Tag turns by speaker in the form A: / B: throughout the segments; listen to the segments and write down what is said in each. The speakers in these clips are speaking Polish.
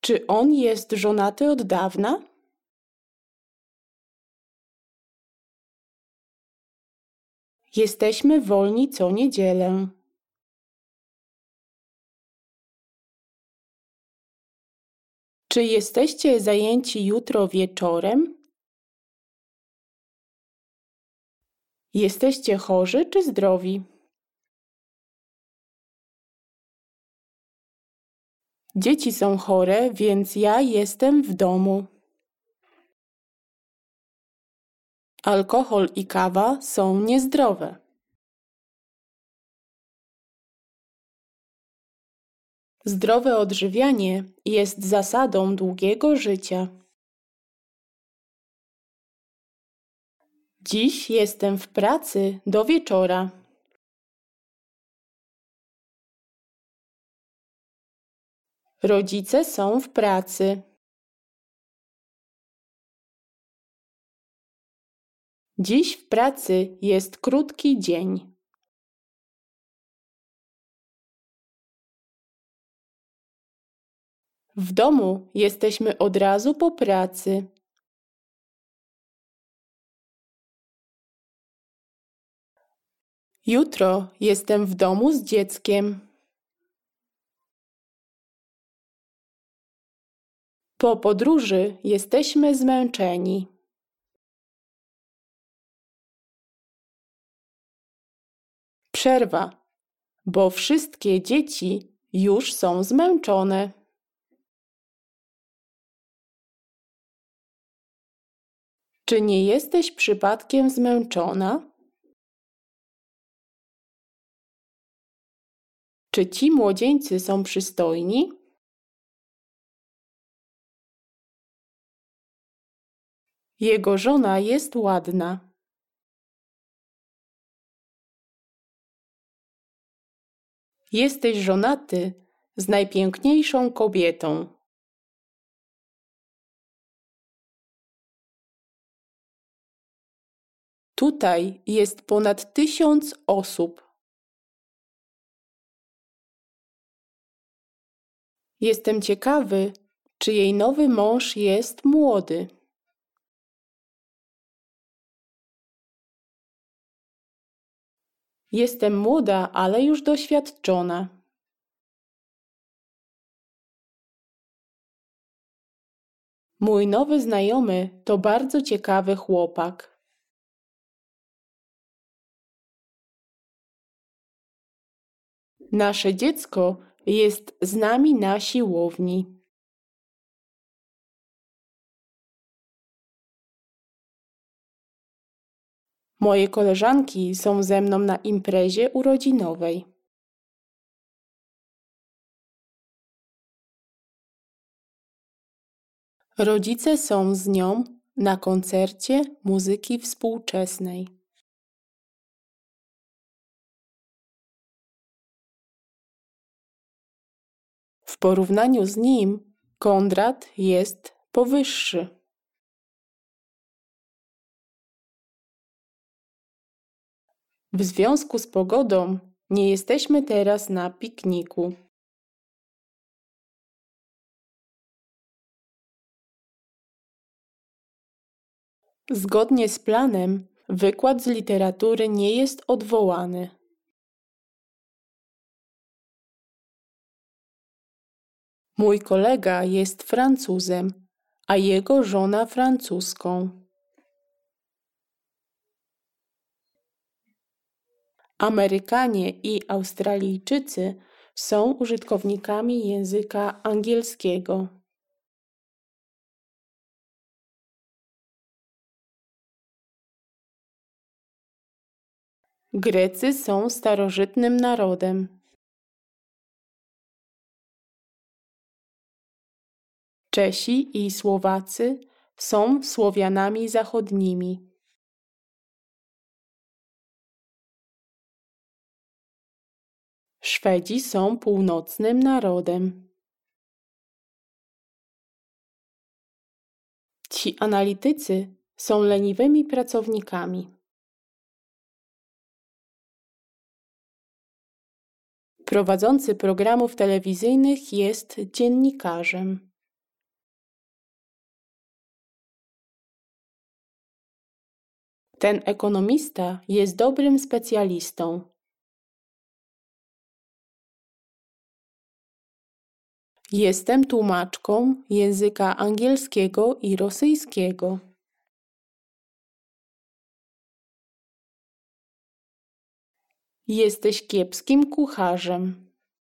A: Czy on jest żonaty od dawna? Jesteśmy wolni co niedzielę. Czy jesteście zajęci jutro wieczorem? Jesteście chorzy czy zdrowi? Dzieci są chore, więc ja jestem w domu. Alkohol i kawa są niezdrowe. Zdrowe odżywianie jest zasadą długiego życia. Dziś jestem w pracy do wieczora. Rodzice są w pracy. Dziś w pracy jest krótki dzień. W domu jesteśmy od razu po pracy. Jutro jestem w domu z dzieckiem. Po podróży jesteśmy zmęczeni. Przerwa, bo wszystkie dzieci już są zmęczone. Czy nie jesteś przypadkiem zmęczona? Czy ci młodzieńcy są przystojni? Jego żona jest ładna. Jesteś żonaty z najpiękniejszą kobietą. Tutaj jest ponad 1000 osób. Jestem ciekawy, czy jej nowy mąż jest młody. Jestem młoda, ale już doświadczona. Mój nowy znajomy to bardzo ciekawy chłopak. Nasze dziecko jest z nami na siłowni. Moje koleżanki są ze mną na imprezie urodzinowej. Rodzice są z nią na koncercie muzyki współczesnej. W porównaniu z nim Konrad jest powyższy. W związku z pogodą nie jesteśmy teraz na pikniku. Zgodnie z planem, wykład z literatury nie jest odwołany. Mój kolega jest Francuzem, a jego żona francuską. Amerykanie i Australijczycy są użytkownikami języka angielskiego. Grecy są starożytnym narodem. Czesi i Słowacy są Słowianami zachodnimi. Szwedzi są północnym narodem. Ci analitycy są leniwymi pracownikami. Prowadzący programów telewizyjnych jest dziennikarzem. Ten ekonomista jest dobrym specjalistą. Jestem tłumaczką języka angielskiego i rosyjskiego. Jesteś kiepskim kucharzem.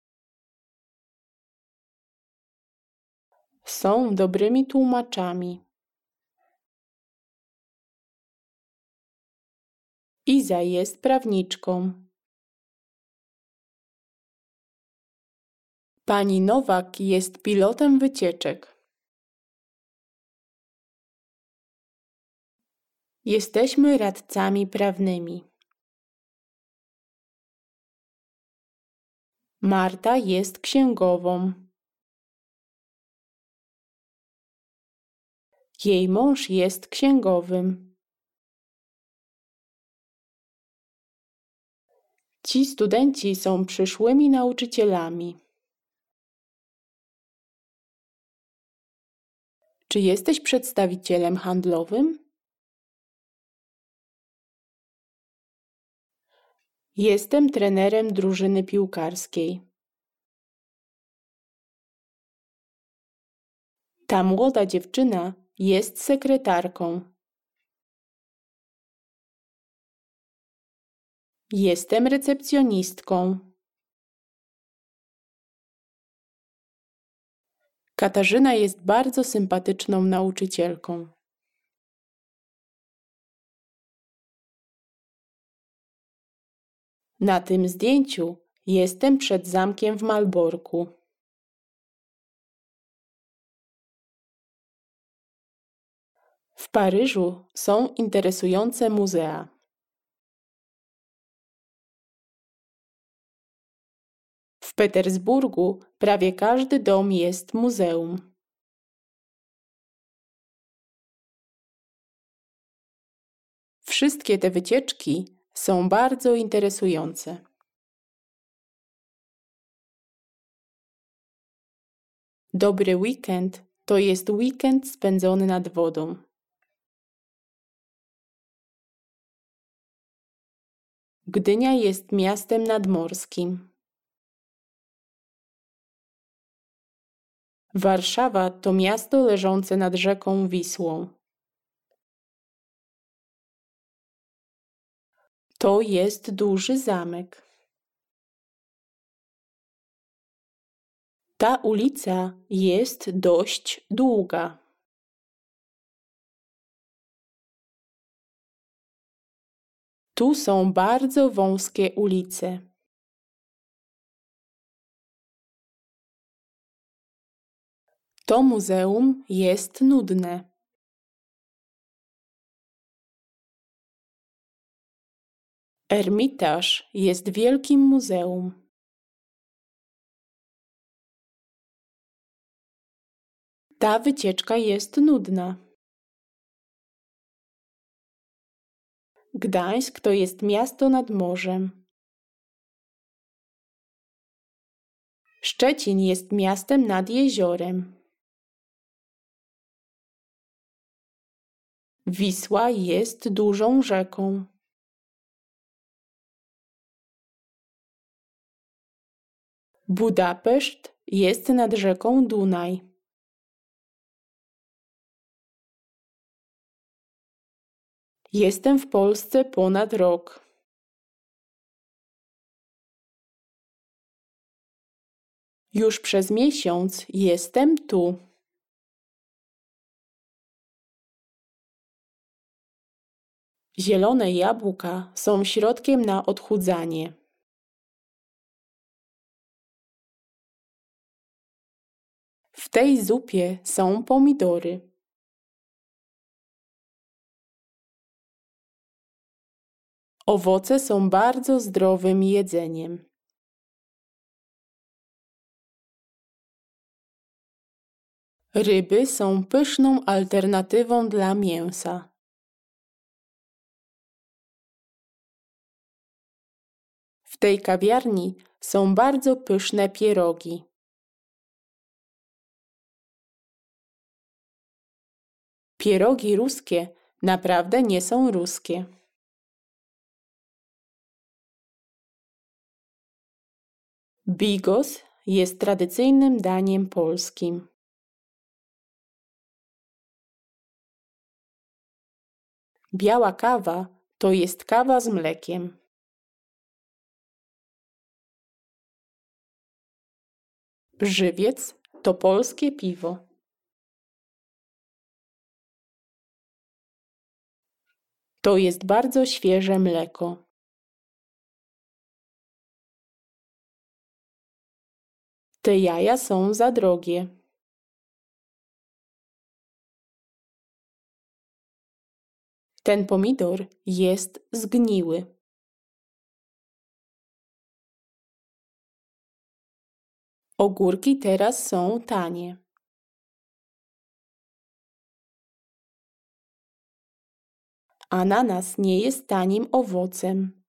A: Są dobrymi tłumaczami. Iza jest prawniczką. Pani Nowak jest pilotem wycieczek. Jesteśmy radcami prawnymi. Marta jest księgową. Jej mąż jest księgowym. Ci studenci są przyszłymi nauczycielami. Czy jesteś przedstawicielem handlowym? Jestem trenerem drużyny piłkarskiej. Ta młoda dziewczyna jest sekretarką. Jestem recepcjonistką. Katarzyna jest bardzo sympatyczną nauczycielką. Na tym zdjęciu jestem przed zamkiem w Malborku. W Paryżu są interesujące muzea. W Petersburgu prawie każdy dom jest muzeum. Wszystkie te wycieczki są bardzo interesujące. Dobry weekend to jest weekend spędzony nad wodą. Gdynia jest miastem nadmorskim. Warszawa to miasto leżące nad rzeką Wisłą. To jest duży zamek. Ta ulica jest dość długa. Tu są bardzo wąskie ulice. To muzeum jest nudne. Ermitaż jest wielkim muzeum. Ta wycieczka jest nudna. Gdańsk to jest miasto nad morzem. Szczecin jest miastem nad jeziorem. Wisła jest dużą rzeką. Budapeszt jest nad rzeką Dunaj. Jestem w Polsce ponad rok. Już przez miesiąc jestem tu. Zielone jabłka są środkiem na odchudzanie. W tej zupie są pomidory. Owoce są bardzo zdrowym jedzeniem. Ryby są pyszną alternatywą dla mięsa. W tej kawiarni są bardzo pyszne pierogi. Pierogi ruskie Naprawdę nie są ruskie. Bigos jest tradycyjnym daniem polskim. Biała kawa to jest kawa z mlekiem. Żywiec to polskie piwo. To jest bardzo świeże mleko. Te jaja są za drogie. Ten pomidor jest zgniły. Ogórki teraz są tanie. Ananas nie jest tanim owocem.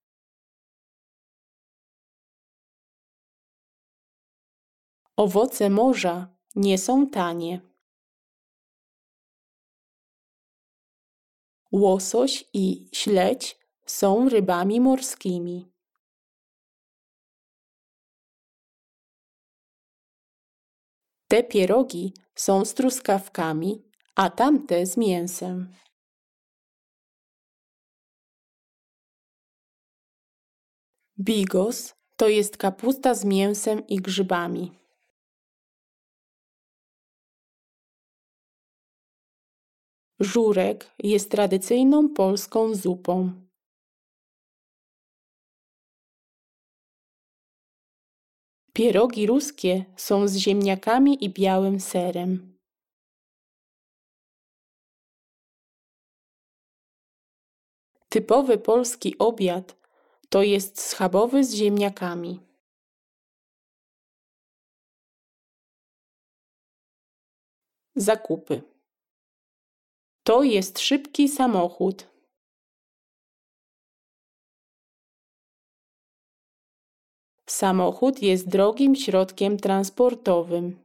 A: Owoce morza nie są tanie. Łosoś i śledź są rybami morskimi. Te pierogi są z truskawkami, a tamte z mięsem. Bigos to jest kapusta z mięsem i grzybami. Żurek jest tradycyjną polską zupą. Pierogi ruskie są z ziemniakami i białym serem. Typowy polski obiad to jest schabowy z ziemniakami. Zakupy. To jest szybki samochód. Samochód jest drogim środkiem transportowym.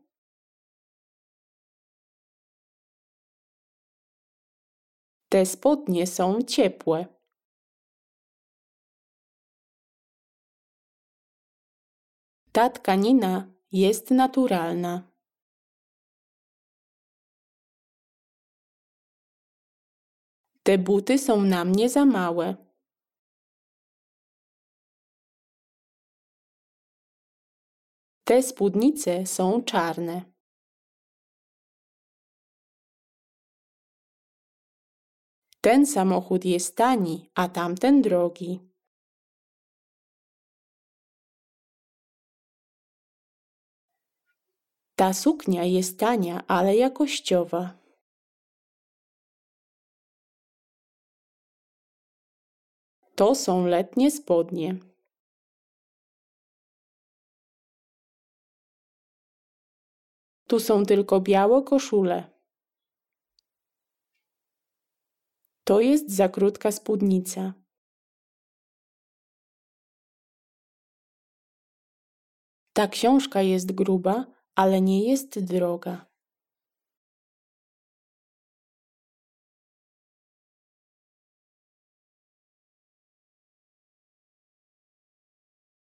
A: Te spodnie są ciepłe. Ta tkanina jest naturalna. Te buty są na mnie za małe. Te spódnice są czarne. Ten samochód jest tani, a tamten drogi. Ta suknia jest tania, ale jakościowa. To są letnie spodnie. Tu są tylko białe koszule. To jest za krótka spódnica. Ta książka jest gruba, ale nie jest droga.